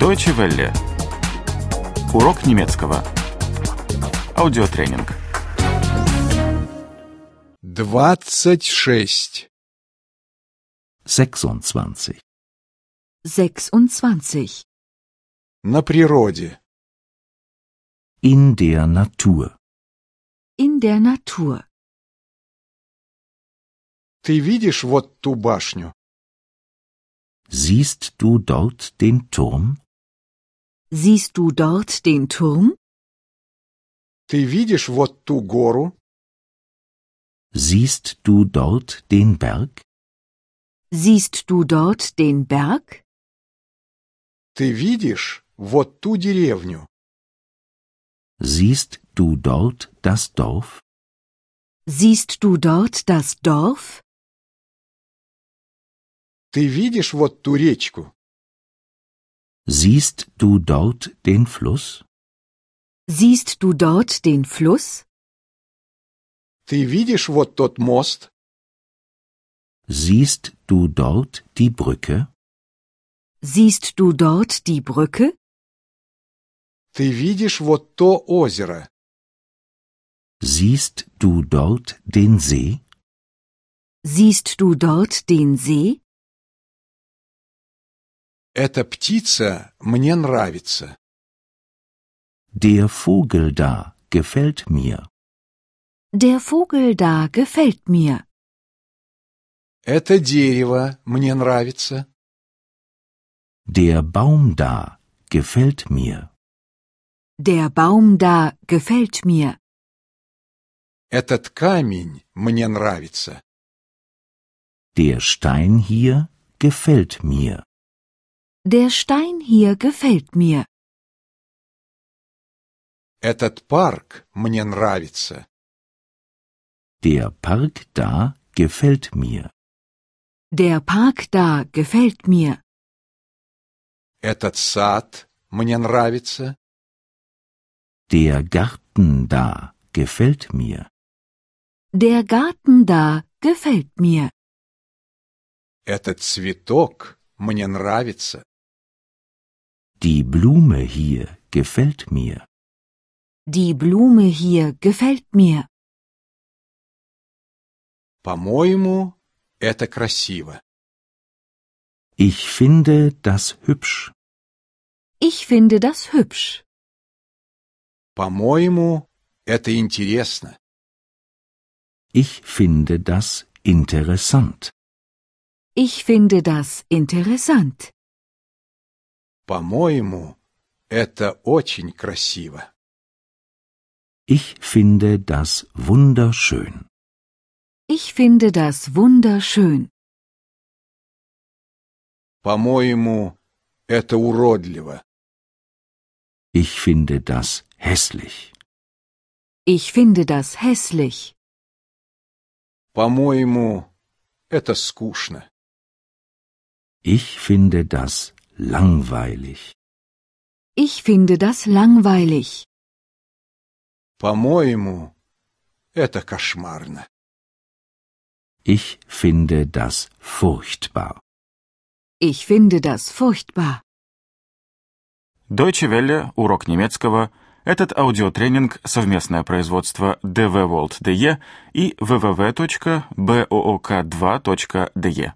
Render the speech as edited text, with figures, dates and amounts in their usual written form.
Deutsche Welle. Урок немецкого. Аудиотренинг. 26. 26. 26. На природе. In der Natur. In der Natur. Ты видишь вот ту башню? Siehst du dort den Turm? Siehst du dort den Turm? Ты видишь вот ту гору? Siehst du dort den Berg? Siehst du dort den Berg? Ты видишь вот ту деревню? Siehst du dort das Dorf? Siehst du dort das Dorf? Ты видишь вот ту речку? Siehst du dort den Fluss? Siehst du dort den Fluss? Ты видишь вот тот мост? Siehst du dort die Brücke? Siehst du dort die Brücke? Ты видишь вот то озеро? Siehst du dort den See? Siehst du dort den See? Эта птица мне нравится. Der Vogel da gefällt mir. Der Vogel da gefällt mir. Это дерево мне нравится. Der Baum da gefällt mir. Der Baum da gefällt mir. Этот камень мне нравится. Der Stein hier gefällt mir. Der Stein hier gefällt mir. Этот парк мне нравится. Der Park da gefällt mir. Der Park da gefällt mir. Этот сад мне нравится. Der Garten da gefällt mir. Der Garten da gefällt mir. Этот цветок мне нравится. Die Blume hier gefällt mir. Die Blume hier gefällt mir. По-моему, это красиво. Ich finde das hübsch. Ich finde das hübsch. По-моему, это интересно. Ich finde das interessant. Ich finde das interessant. По-моему, это очень красиво. Ich finde das wunderschön. Ich finde das wunderschön. По-моему, это уродливо. Ich finde das hässlich. Ich finde das hässlich. По-моему, это скучно. Ich finde das langweilig. Ich finde das langweilig. По-моему, это кошмарно. Ich finde das furchtbar. Ich finde das furchtbar. Deutsche Welle. Урок немецкого. Этот аудиотренинг – совместное производство dvworld.de и www.book2.de.